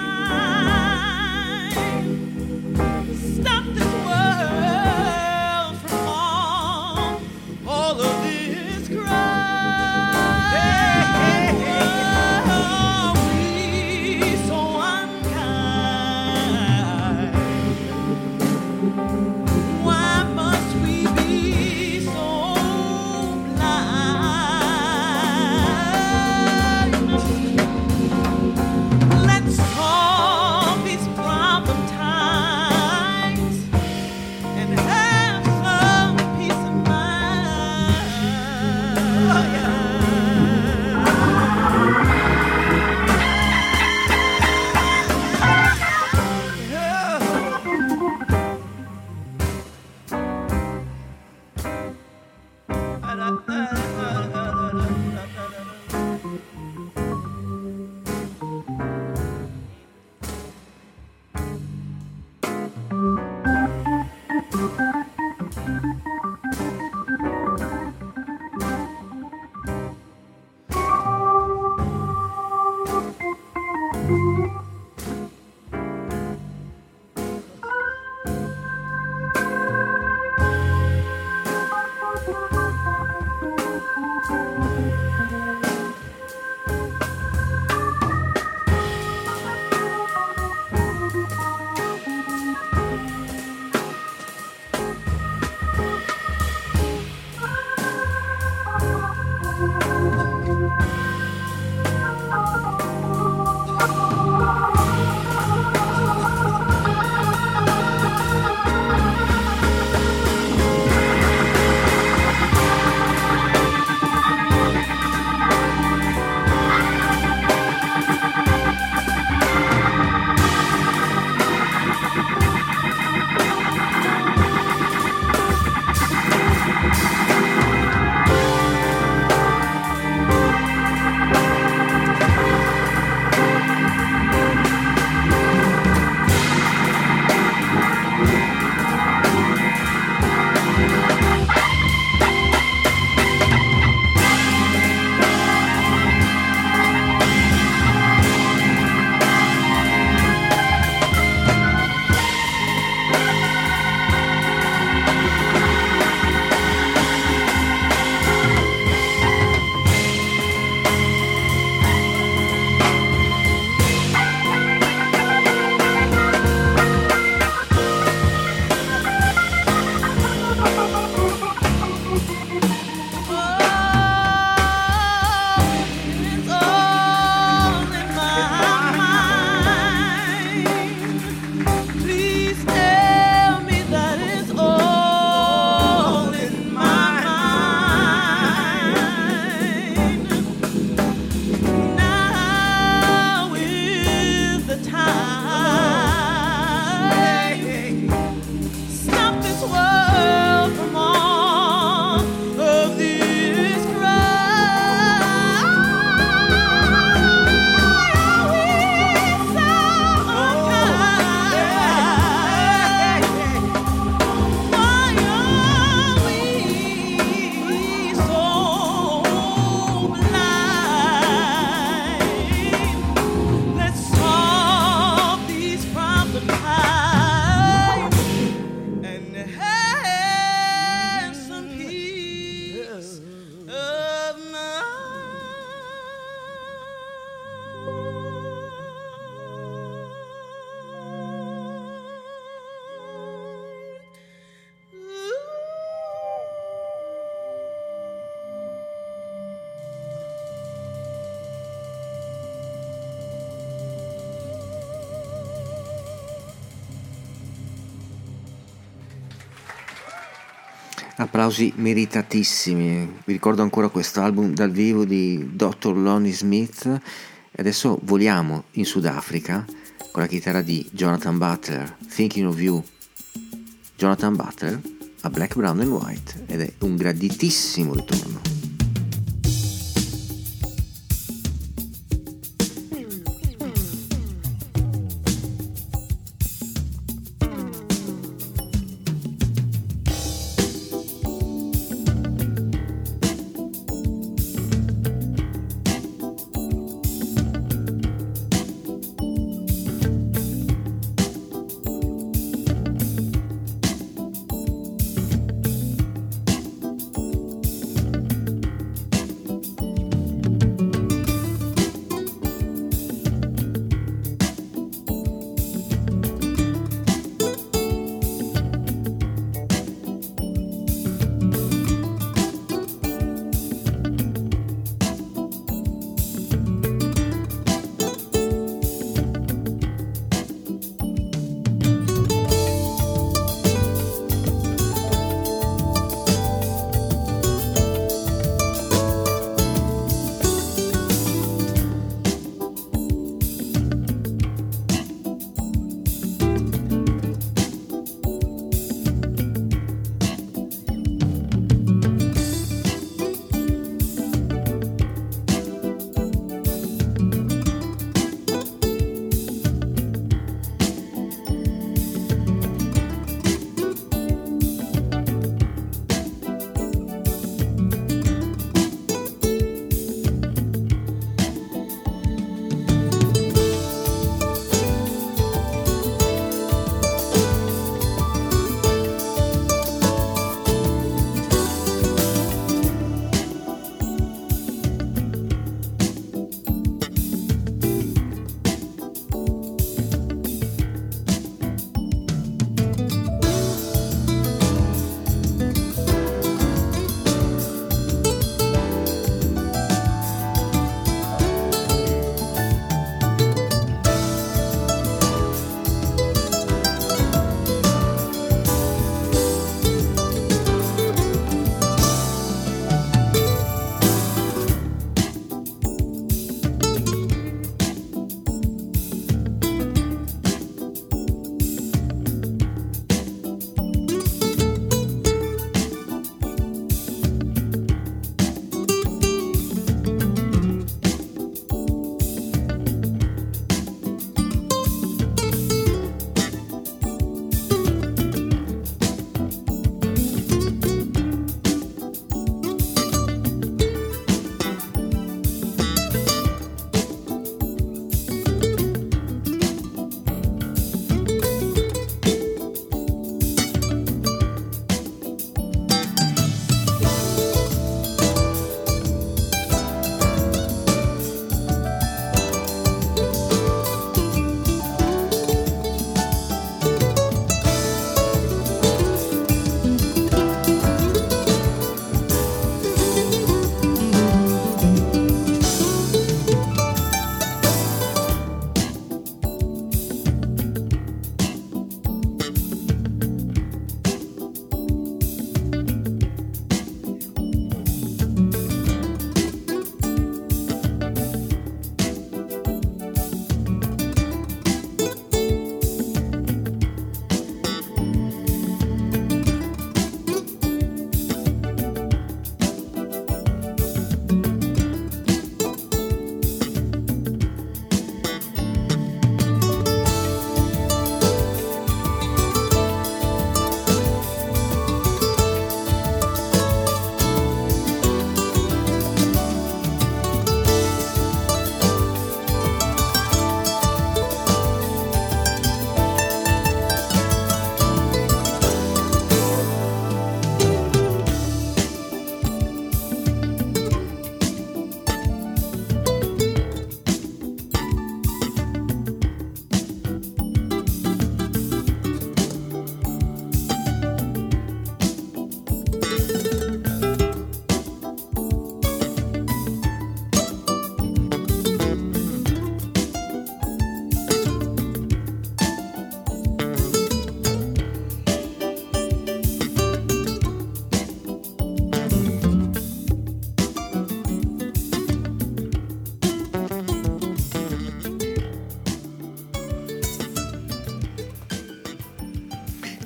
Applausi meritatissimi. Vi ricordo ancora questo album dal vivo di dottor Lonnie Smith e adesso voliamo in Sudafrica con la chitarra di Jonathan Butler, Thinking of You. Jonathan Butler a Black, Brown and White ed è un graditissimo ritorno.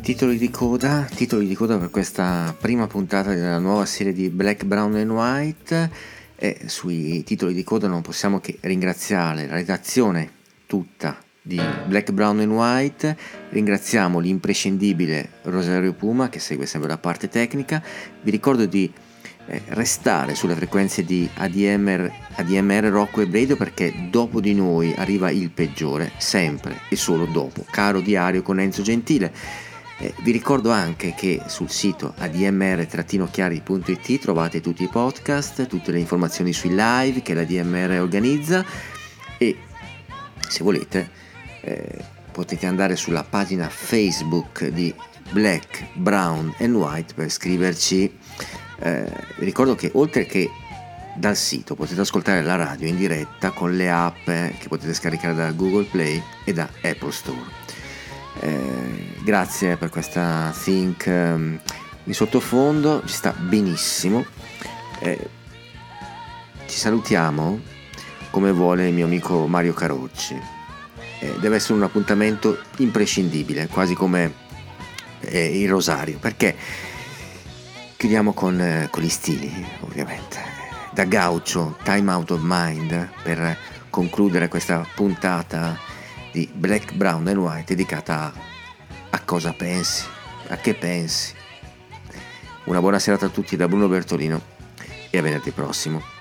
Titoli di coda, titoli di coda per questa prima puntata della nuova serie di Black, Brown and White, e sui titoli di coda non possiamo che ringraziare la redazione tutta di Black, Brown and White. Ringraziamo l'imprescindibile Rosario Puma che segue sempre la parte tecnica. Vi ricordo di eh, restare sulle frequenze di A D M R, A D M R Rock Web Radio, perché dopo di noi arriva il peggiore, sempre e solo dopo, caro diario con Enzo Gentile. Eh, vi ricordo anche che sul sito a d m r chiari punto i t trovate tutti i podcast, tutte le informazioni sui live che l'A D M R organizza, e se volete eh, potete andare sulla pagina Facebook di Black, Brown and White per scriverci. Eh, vi ricordo che oltre che dal sito potete ascoltare la radio in diretta con le app eh, che potete scaricare da Google Play e da Apple Store. Eh, grazie per questa think um, in sottofondo, ci sta benissimo. Eh, ci salutiamo come vuole il mio amico Mario Carocci. Eh, deve essere un appuntamento imprescindibile, quasi come eh, il rosario, perché chiudiamo con, eh, con gli stili, ovviamente. Da Gaucho, Time Out of Mind, per concludere questa puntata di Black, Brown and White dedicata a, a cosa pensi, a che pensi. Una buona serata a tutti da Bruno Bertolino e a venerdì prossimo.